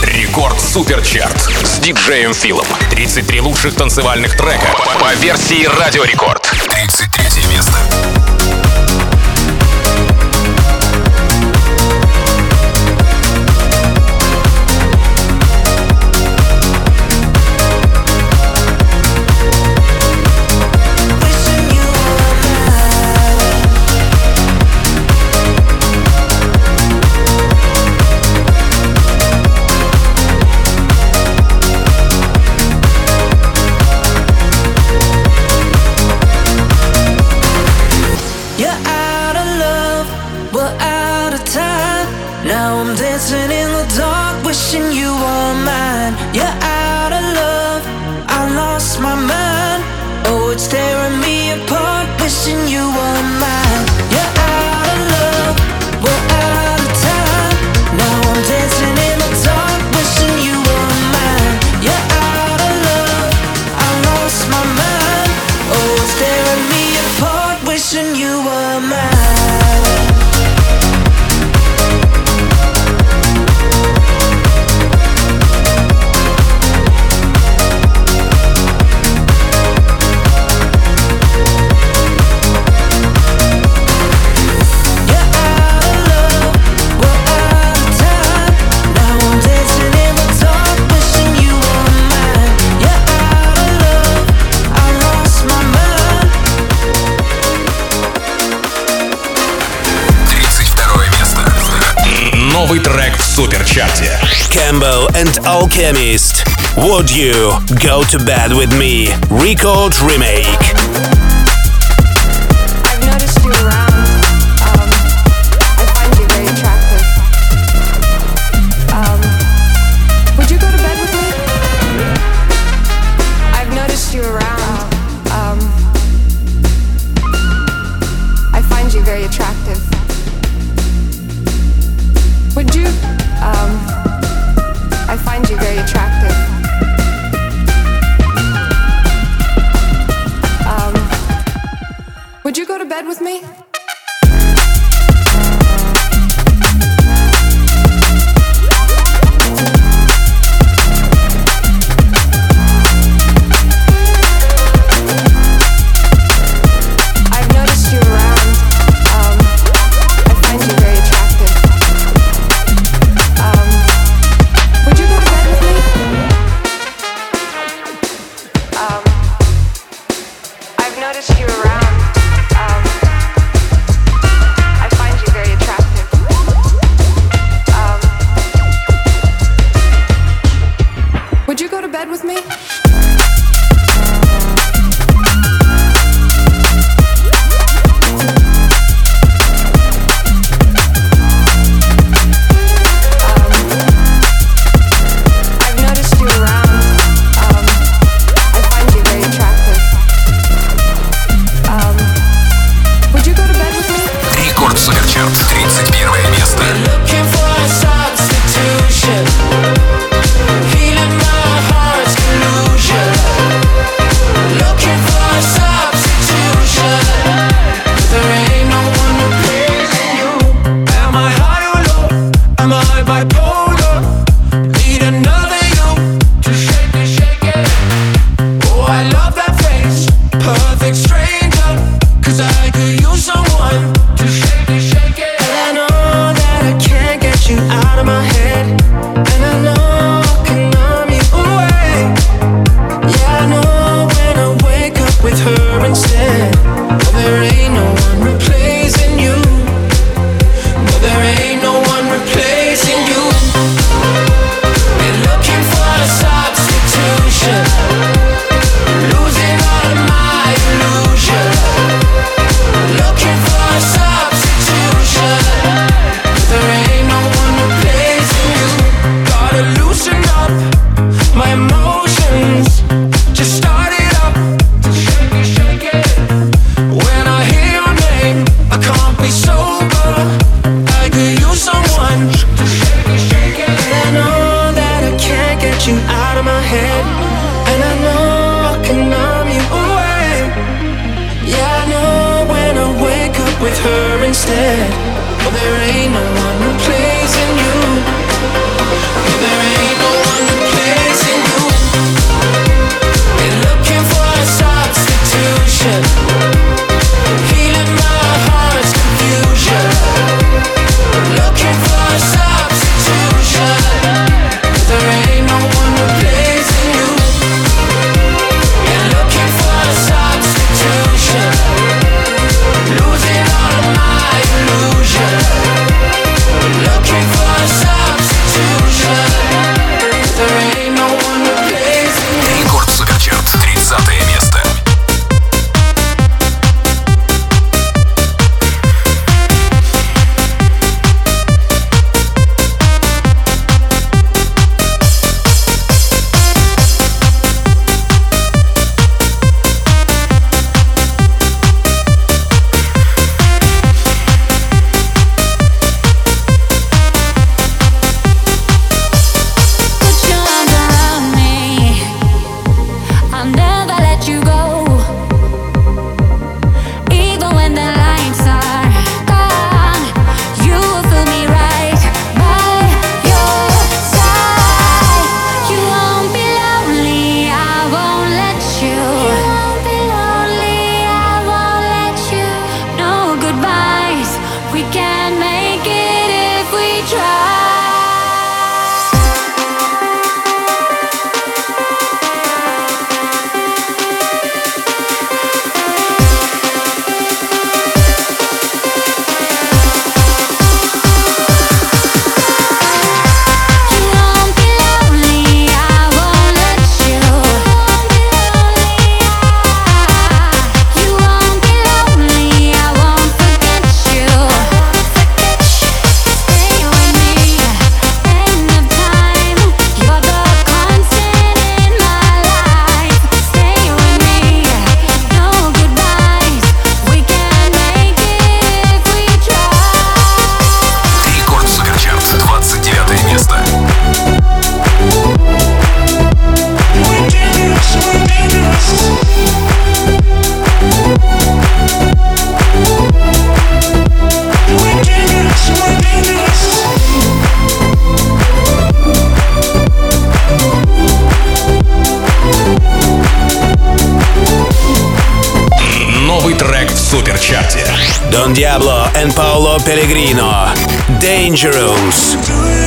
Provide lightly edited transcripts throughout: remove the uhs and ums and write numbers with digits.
Рекорд Суперчарт с диджеем Филом. 33 лучших танцевальных трека по версии Радио Рекорд. 33 место. Dancing in the dark, wishing you were mine. You're out of love, I lost my mind. Oh, it's tearing me apart, wishing you were mine. You're out of love, we're out of time. Now I'm dancing in the dark, wishing you were mine. You're out of love, I lost my mind. Oh, it's tearing me apart, wishing you were mine. Новый трек в Суперчарте. Campbell and Alchemist. Would you go to bed with me? Record remake. I've noticed you around. I find you very attractive. Would you go to bed with me? I've noticed you around. I find you very attractive. Would you, I find you very attractive. Would you go to bed with me? I've noticed you around. I find you very attractive. Would you go to bed with me? I've noticed you around. I find you very attractive. Would you go to bed with me? I've noticed you around. I find you very attractive. Would you go to bed with me? Рекорд Суперчарт. 31 место. Looking for a substitution, healing my heart's illusion. Looking for a substitution, there ain't no one replacing you. Am I high or low? Am I bipolar? Need another you to shake it. Oh, I love that face, perfect stranger. 'Cause I could use someone to shake it. And I know that I can't get you out of my head. And I know I can numb you away. Yeah, I know when I wake up with her instead. Oh, there ain't no one replacing you. No, there ain't no one replacing you. You're looking for a substitution, losing all of my illusion. Looking for a substitution, there ain't no one replacing you. Gotta loosen up my emotions, just start it up, shake it. When I hear your name, I can't be sober. I could use someone to shake it. And I know that I can't get you out of my head. And I know I can numb you away. Yeah, I know when I wake up with her instead. Oh, there ain't no one replacing you. Oh, there ain't суперчарте. Don Diablo and Paolo Pellegrino. Dangerous.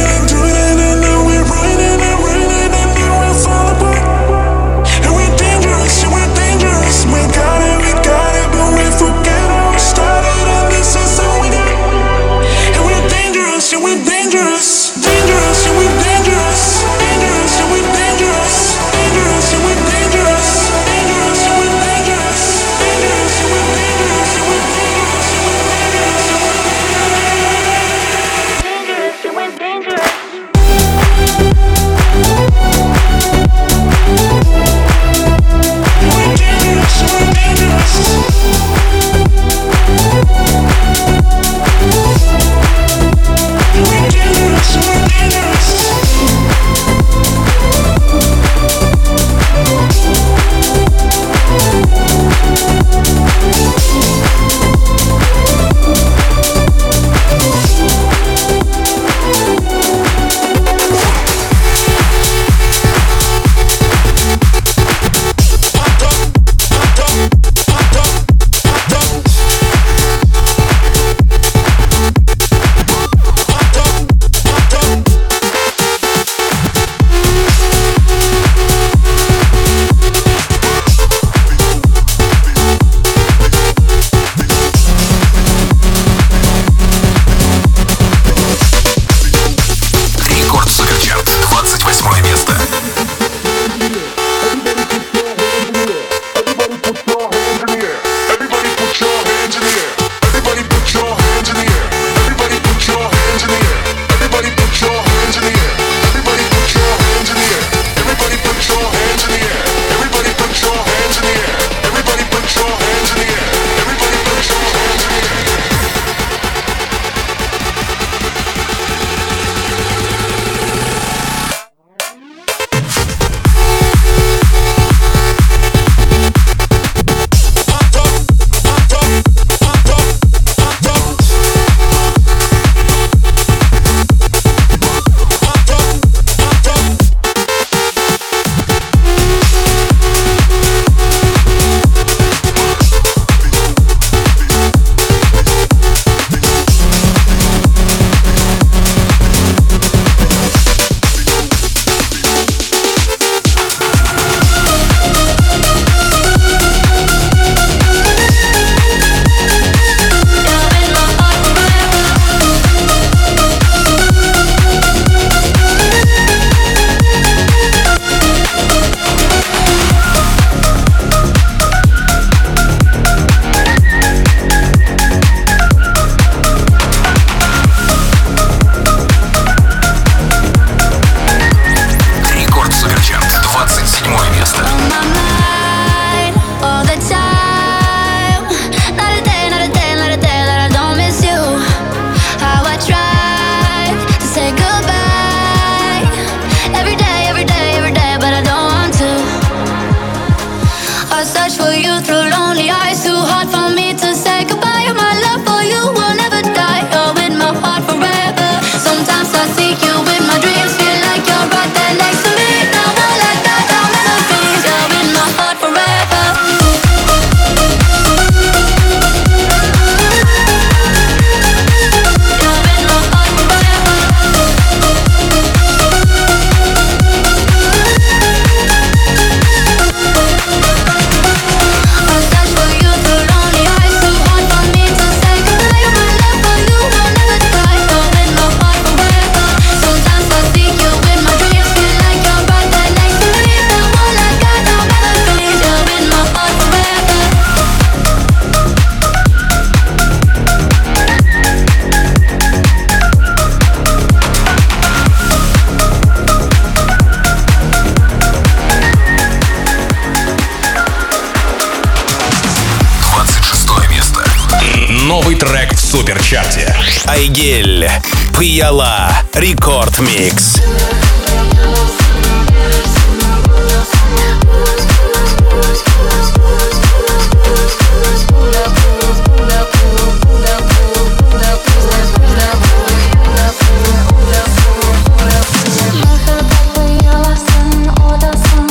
Трек в суперчарте. Айгель, Пияла, Рекорд Микс.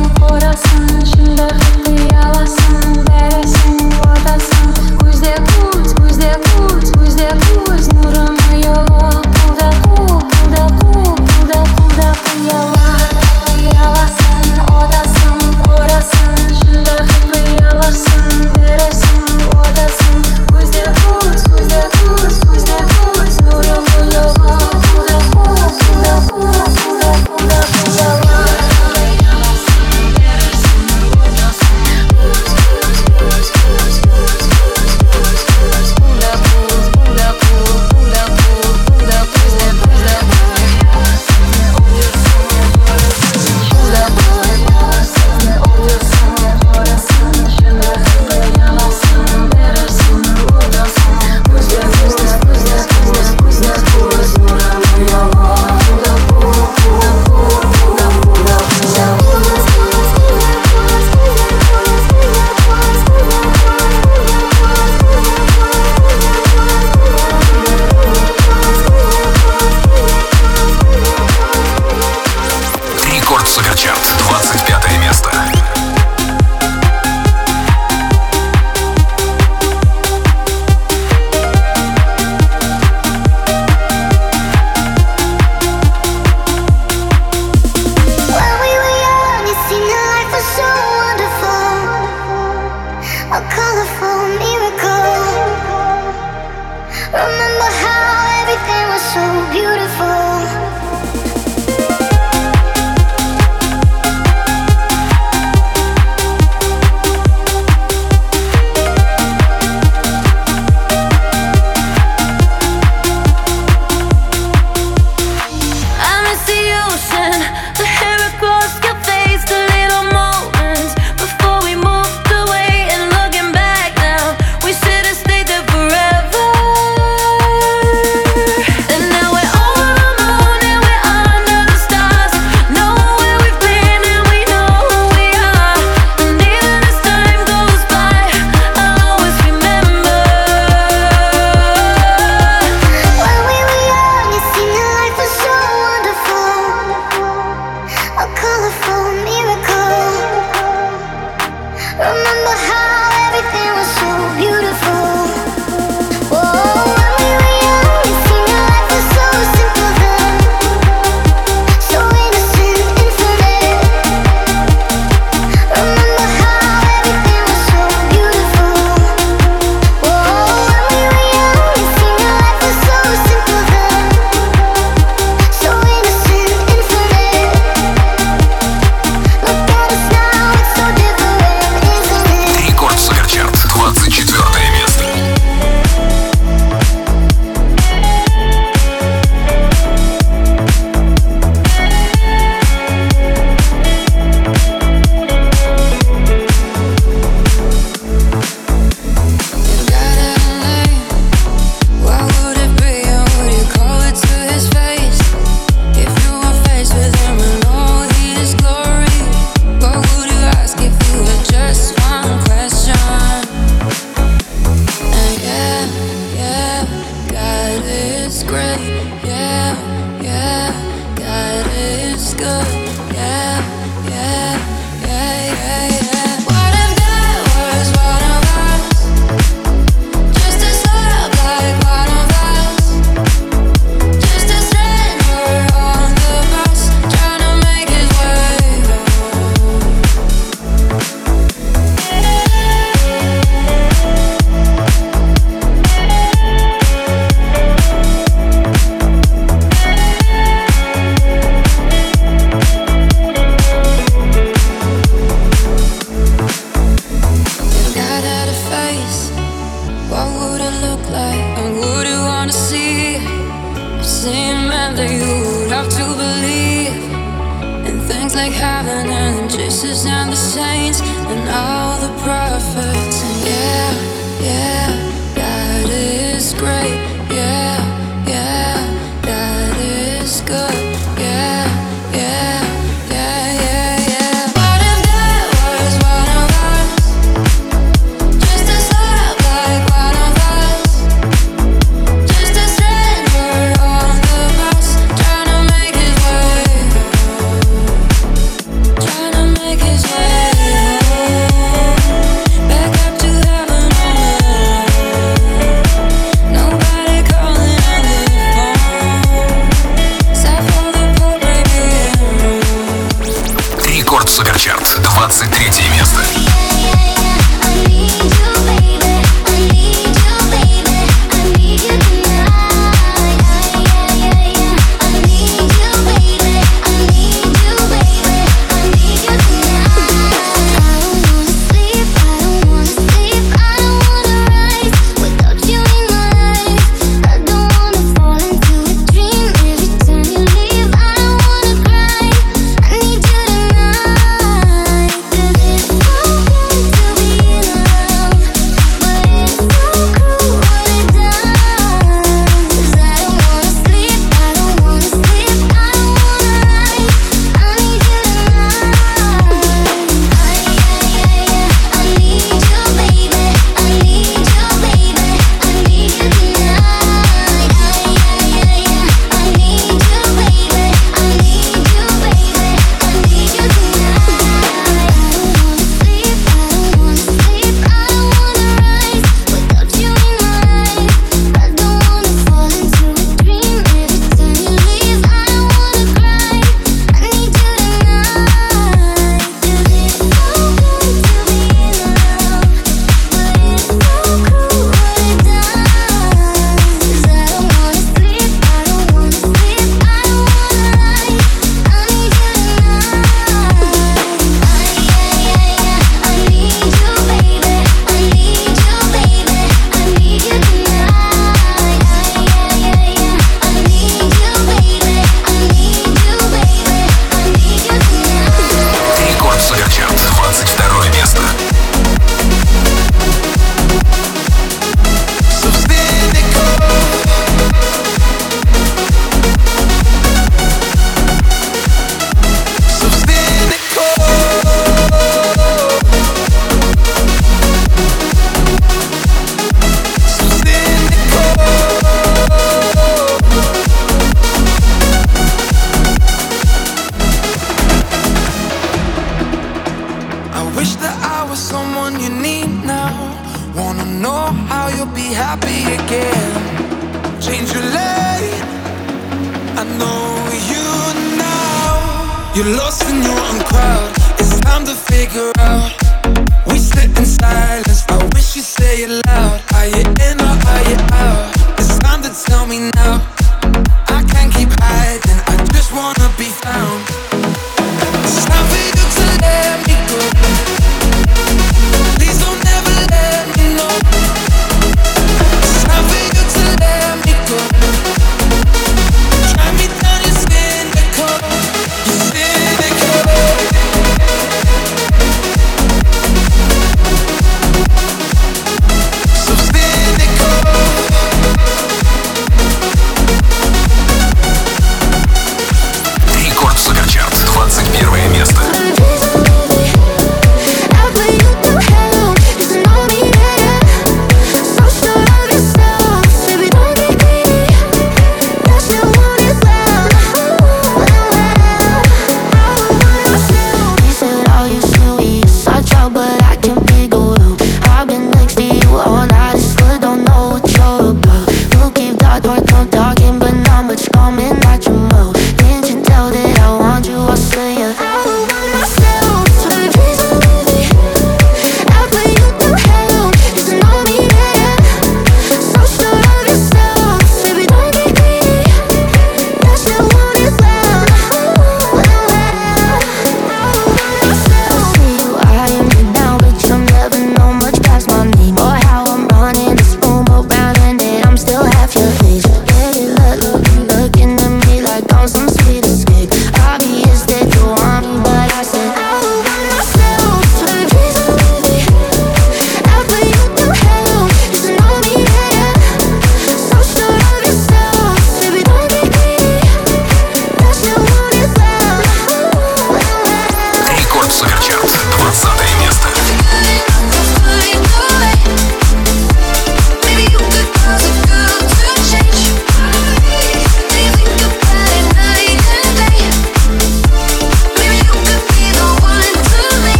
Күзде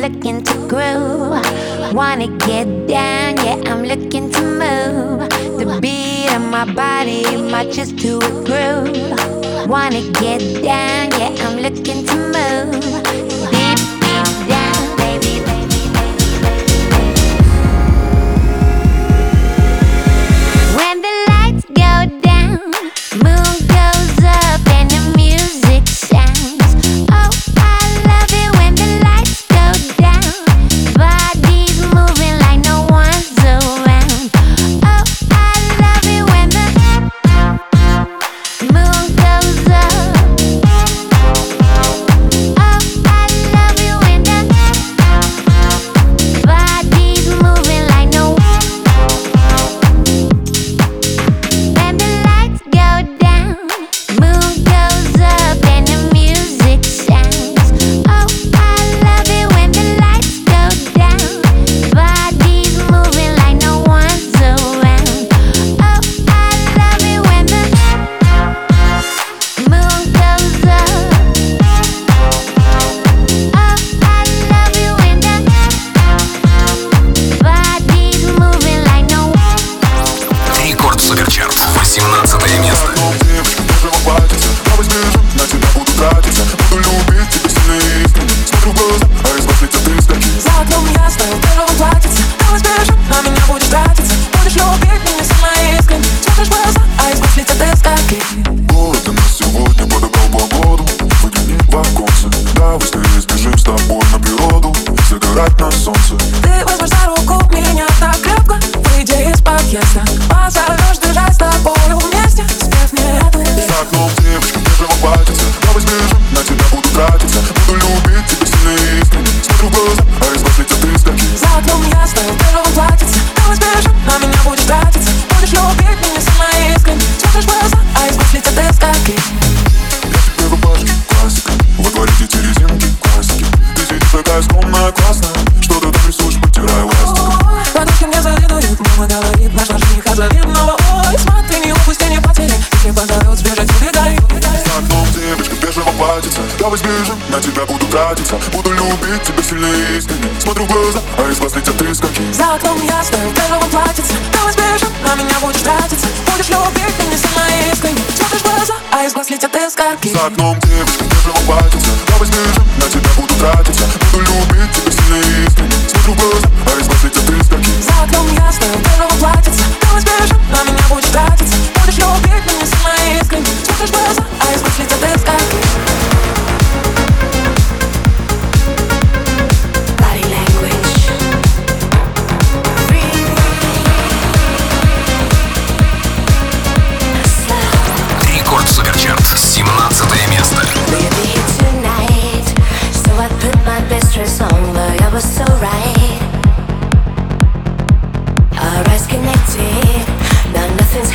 looking to groove. Wanna get down, yeah, I'm looking to move. The beat of my body matches to a groove. Wanna get down, yeah, I'm looking to move. Deep, deep down, baby, baby, baby, baby. When the lights go down, moon goes up and the music sounds. Oh, I love it when the lights go down. Bodies moving like no one's around. Oh, I love it when the moon goes up. Oh, I love it when the bodies moving like no. When the lights go down, moon goes up and the music sounds. Oh, I love it when the lights go down. Bodies moving like no one's around. Oh, I love it when the moon goes up. Oh, I love it when the bodies moving like no. Рекорд Суперчарт, 18 место. Девочка, бежево платьице, давай сбежим, на тебя буду тратиться. Буду любить тебя сильно и искренне. Смотрю в глаза, а из глаз летят искорки. За окном ясно, в бежевом платьице. Давай сбежим, на меня будешь тратиться. Будешь любить меня сильно и искренне. Смотришь в глаза, а из глаз летят искорки. Город у нас сегодня подобрал погоду. Выгляни в оконце, давай скорее сбежим с тобой на природу. Загорать на солнце. Ты возьмешь за руку меня так крепко. Выйди из подъезда, позовешь держать с тобою вместе. Спев мне эту песню. За окном девочка, бежево платьице. Давай сбежим, на тебя буду тратиться. Буду любить тебя сильно и искренне. Смотрю в глаза, а из глаз летят искорки. За окном ясно, в бежевом платьице. Давай сбежим, на меня будешь тратиться. Будешь любить меня сильно и искренне. Смотришь в глаза, а из глаз летят искорки. Я тебе рубашки, классика. Во дворе эти резинки, классики. Ты сидишь такая скромная, классная. Что ты там рисуешь, потирая ластик. Подружки мне завидуют, мама говорит, нашла жениха завидного. Ой, смотри, не упусти, не потери. Если позовет, сбежать, убегай. За окном девочка, бежево платьице. Давай сбежим, на тебя буду тратиться. Буду любить тебя сильно и искренне. Смотрю в глаза, а из глаз летят искорки. За окном ясно, в бежевом платьице. Давай сбежим, на меня будешь тратиться. Будешь любить меня сильно и искренне. Смотришь в глаза, а из глаз летят искорки. За окном девочка, бежево платьице. Давай сбежим, на тебя буду тратиться. Буду любить тебя сильно и искренне. Смотрю в глаза, а из глаз летят искорки. За окном ясно, в бежевом платьице. Давай сбежим, на меня будешь тратиться. Будешь любить меня сильно и искренне. Смотришь в глаза, а из глаз летят искорки. Body language. Рекорд Суперчарт, 17 место. We'll be here tonight, so I put my best dress on, but I was so right. Our eyes connected, now nothing's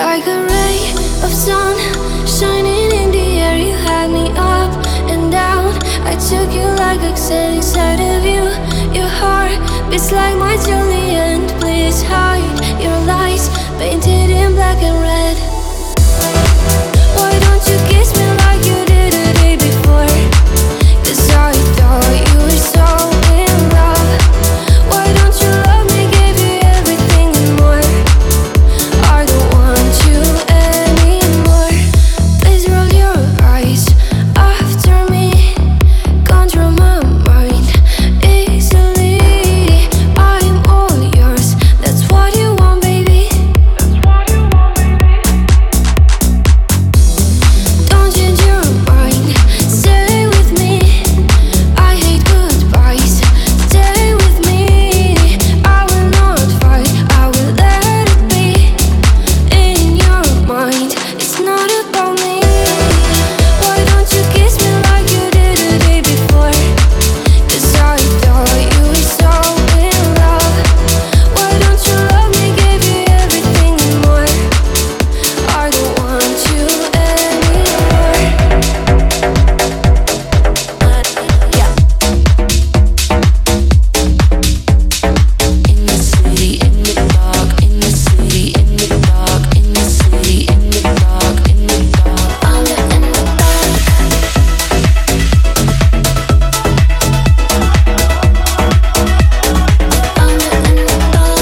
Like a ray of sun shining in the air, you had me up and down. I took you like oxygen inside of you. Your heart beats like my Juliet. Please hide your lies, painted in black and red. Why don't you kiss me like you did the day before? 'Cause I thought you were so in love. Why don't you love me, give you everything and more? I don't want you anymore. Please roll your eyes after me. Control my mind easily. I'm all yours, that's what you want, baby. Don't change your mind, stay with me. I hate goodbyes, stay with me. I will not fight, I will let it be. In your mind, it's not about me. Why don't you kiss me like you did the day before? 'Cause I thought you were so in love. Why don't you love me, give you everything and more? I don't want you anymore. Yeah. In the city, in the dark, in the city, in the dark, in the city, in the dark, in the dark. I'm in the dark. I'm in the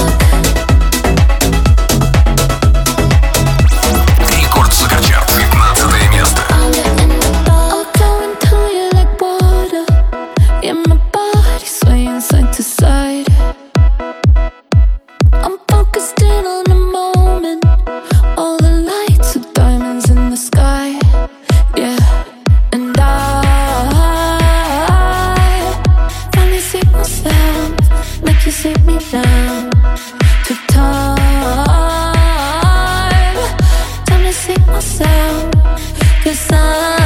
dark. Рекорд Суперчарт, 15 место. I'm going through you like water. Yeah, my body swaying side to side. I'm focused in on the moment. All the lights are diamonds in the sky. Yeah, and I finally see myself, make you sit me down. Took time to see myself. 'Cause I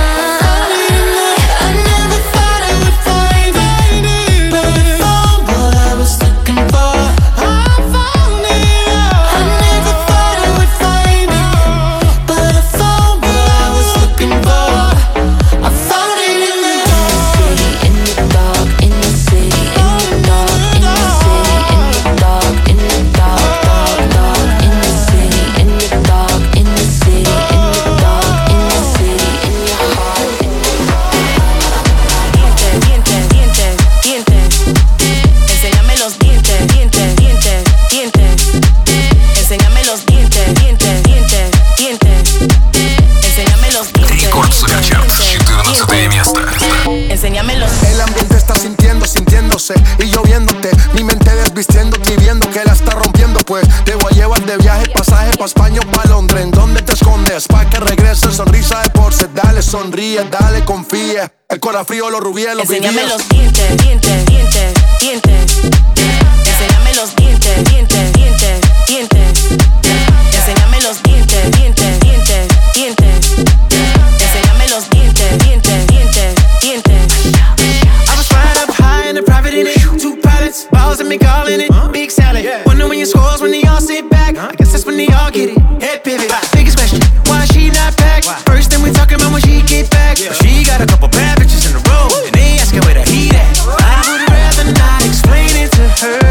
never thought I would find it, but I found what I was looking for. I found it. I never thought I would find it, but I found what I was looking for. I found it in the dark, in the city, in the dark, in the city, in the dark, in the dark, dark, in the city, in the dark, in the city, in the dark, in the city, in your heart. Dientes, dientes, dientes, enséñame los dientes, dientes, dientes, dientes, enséñame los dientes, dientes, dientes, dientes, enséñame los dientes. Рекорд Суперчарт, 14 место. Enséñame los. El ambiente está sintiéndose y lloviéndote. Mi mente desvistiéndote y viendo que la está rompiendo. Pues te voy a llevar de viaje, pasaje pa' España o pa' Londres. ¿En dónde te escondes? Pa' que regreses, sonrisa de porce. Dale, sonríe, dale, confía. El corazón frío, los rubíes, los Enséñame vivíes. los dientes, dientes, dientes, dientes. Enséñame los dientes, dientes, dientes, dientes. Enséñame los dientes, dientes, dientes, dientes. Enséñame los dientes, dientes, dientes, dientes. I was flying up high in a private in it. Two pilots, balls and me calling it. Big salad. Wonder when your scores when they all sit back. I guess that's when they all get it. Head pivot. Biggest question, why she not packed? First thing we talking about when she get back. She got a couple bad bitches in a row, and they asking where the heat at. I would rather not explain it to her.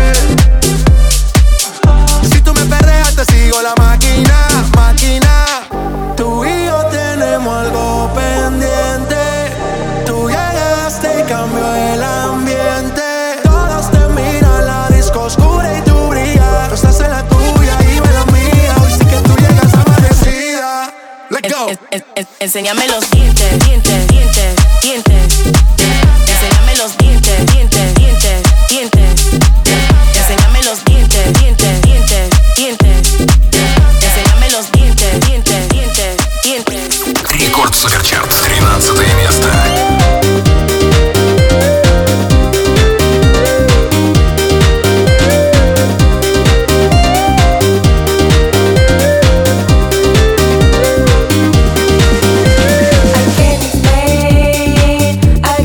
Si tú me perdeas, te sigo la máquina, máquina. Tú y yo tenemos algo pendiente. Tú llegaste y cambió el ambiente. Todos te miran, la disco oscura y tú brillas. Tú estás en la tuya y yo en la mía. Hoy sí que tú llegas amanecida. Let's go. Enséñame los dientes, dientes, dientes, dientes. Enséñame los dientes, dientes, dientes, dientes. Enséñame los dientes, dientes, dientes, dientes. Enséñame los dientes, dientes, dientes, dientes. Рекорд Суперчарт, 13 место. I can't explain, I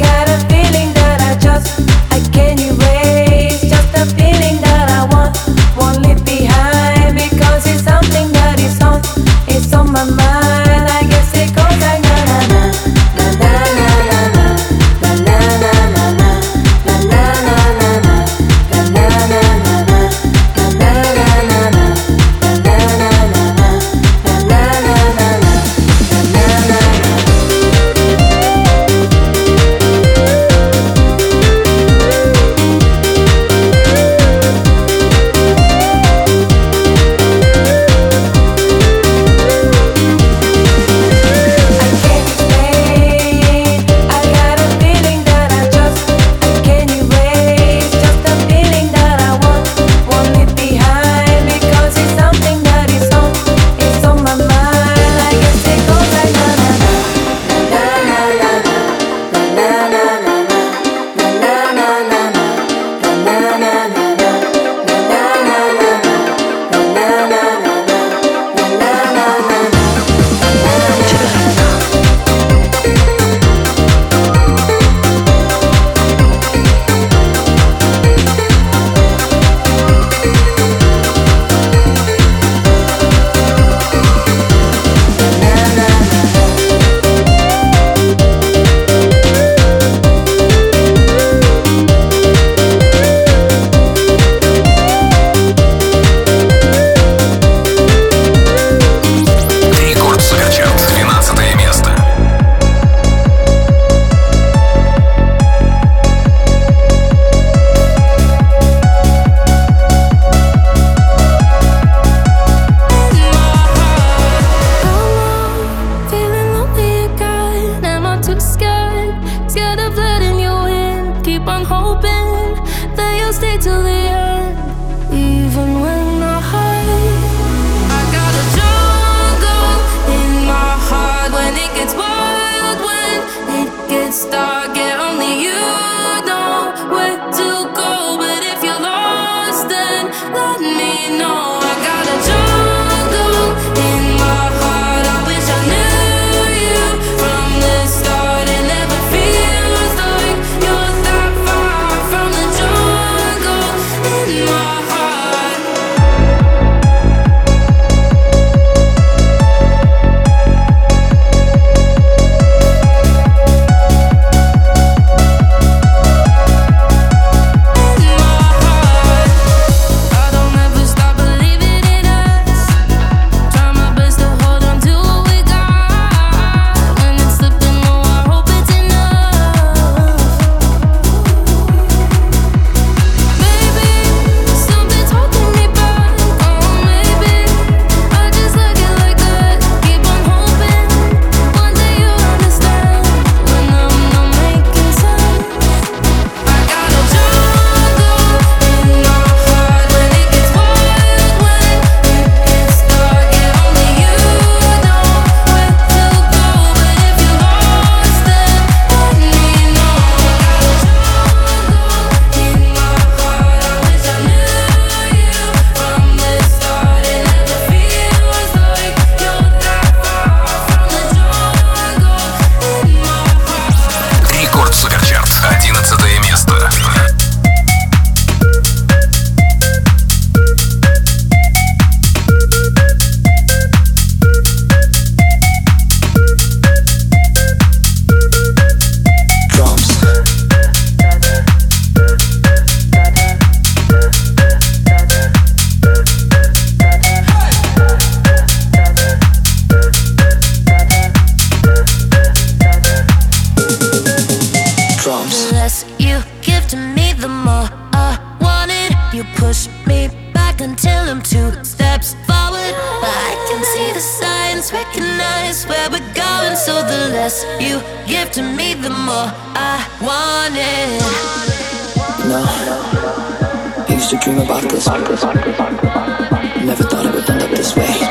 the signs, recognize where we're going. So the less you give to me, the more I want it. No, I used to dream about this. Never thought it would end up this way.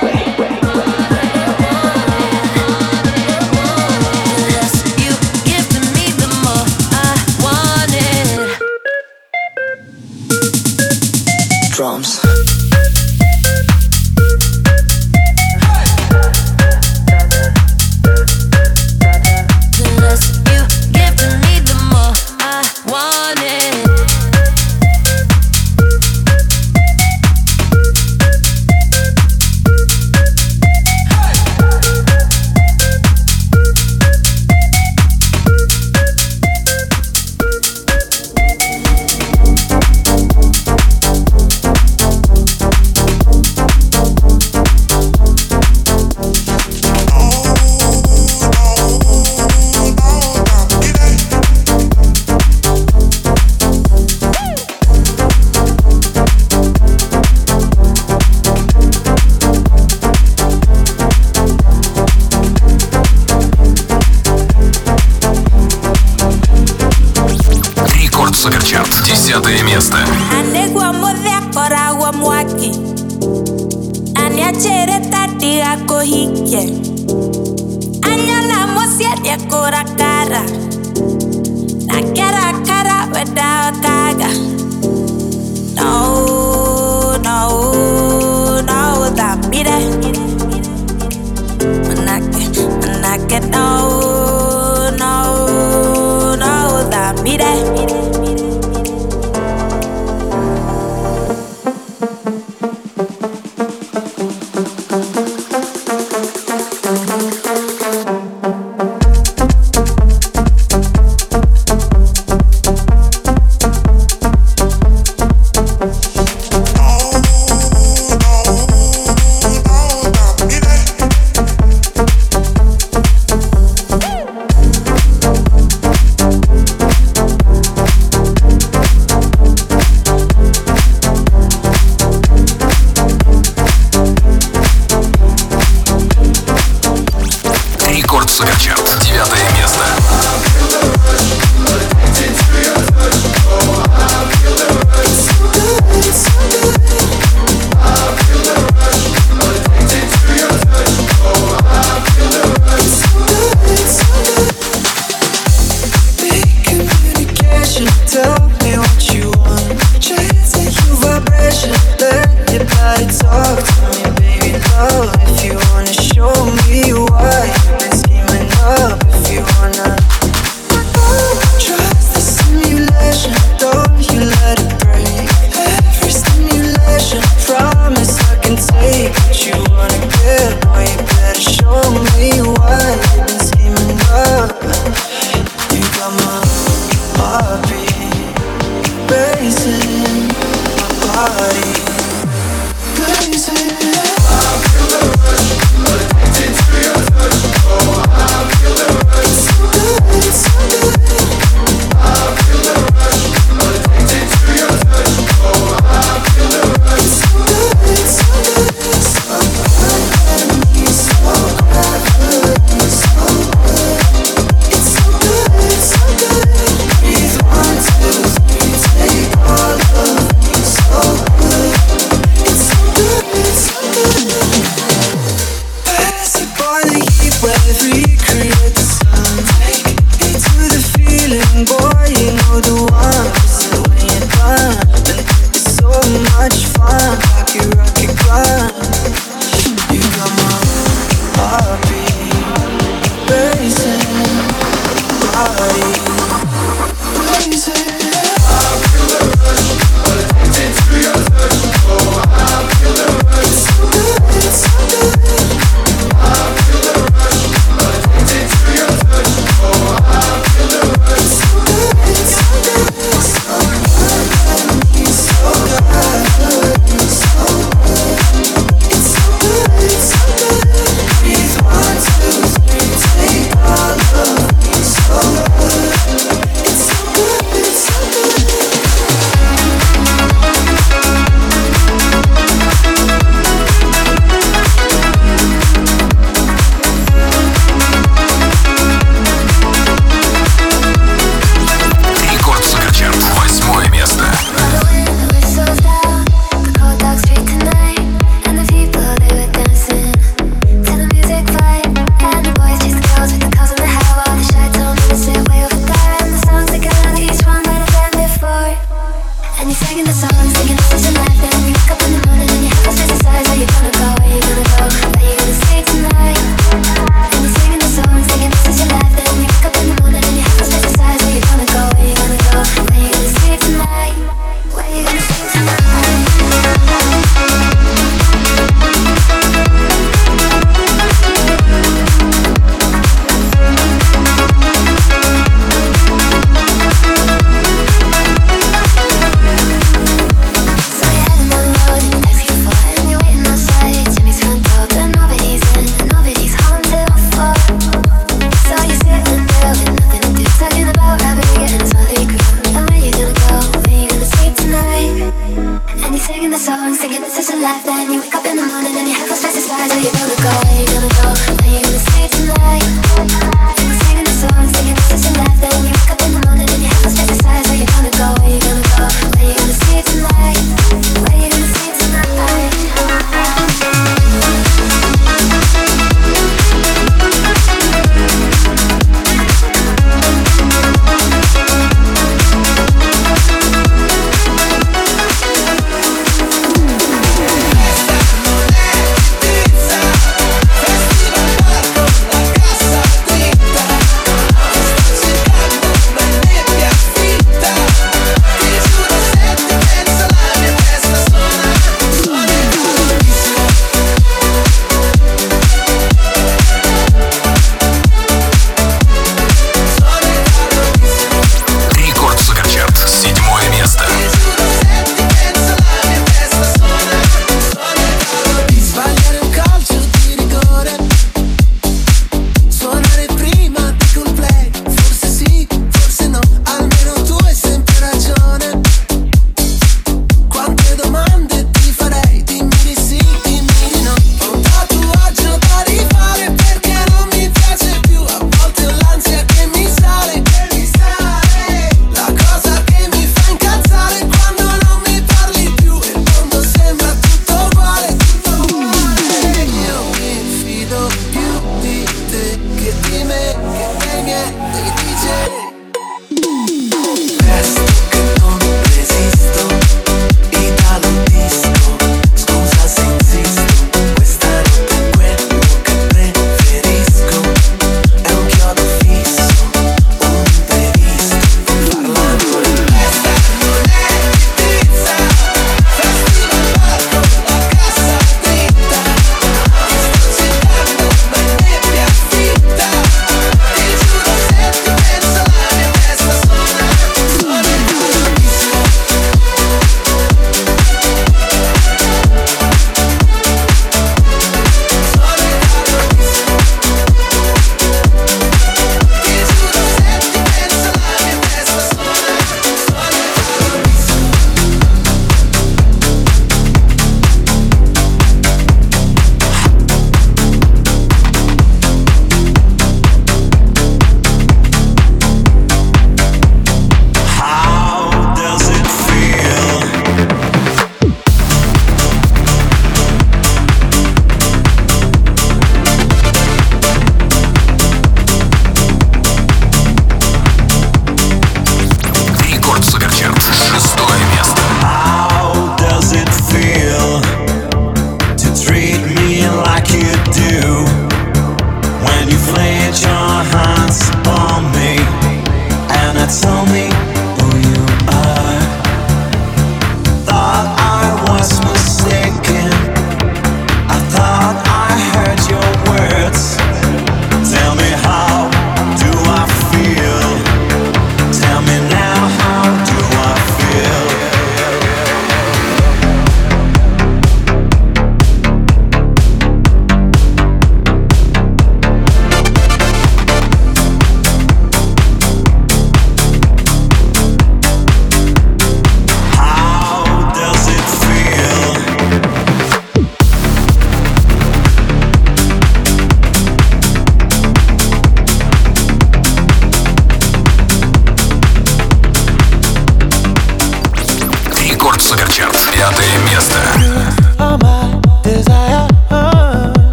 Drums. Суперчарт, 10 место. Суперчарт, 9 место. If you wanna show me why, been scheming up. If you wanna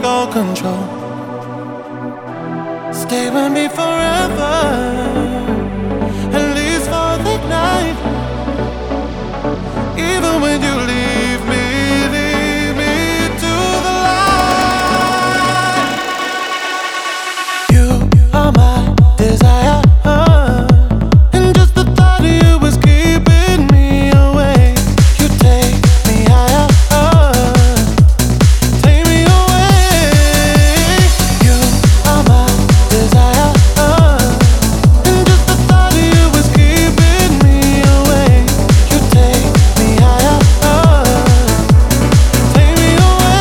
all control. Stay with me forever, at least for the night. Even when you leave me to the light. You are my desire, and just the thought of you is keeping me awake. You take me higher, take me away. You are my desire, and just the thought of you is keeping me awake. You take me higher, take me away.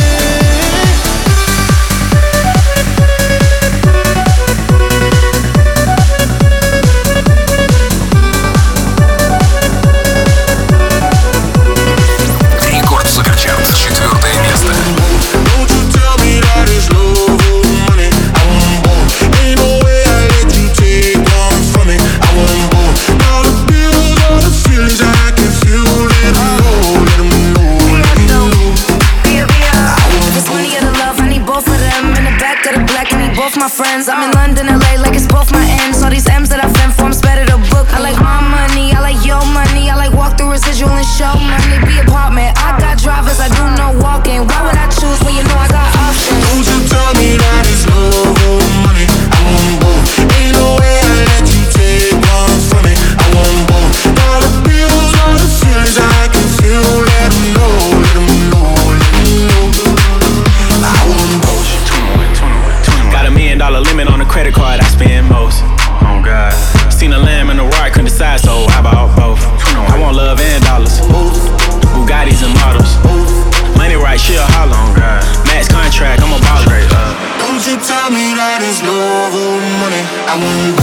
Рекорд Суперчарт, 4 место. Don't you tell me that it's love or money. I want both. Ain't no way I let you take one from me. I want both. All the bills, all the feelings I can feel. Let 'em know, let 'em know, let 'em know. If it's money or the love, I need both of them. In the back of the black, I need both my friends. I'm in London, LA, like it's both my ends. All these M's that I've been for, I'm better to book. I like my money, I like your money. I like walk through residual and show money. Be apartment, I got drivers, I do no walking. Why would I choose when you know I got options? Don't you tell me that it's love or money. I want both. Ain't no way I let you take one from me. I want both. All the bills, all the feelings I can feel. Let 'em know, let 'em know, let 'em know. I want both. Got $1 million limit on the credit card I spend most. Oh God. Seen a lamb and a roar, couldn't decide, so I bought both. I want love and dollars. Bugattis and models. Money right, she'll holler on God. Max contract, I'm a baller. Don't you tell me that it's love or money. I want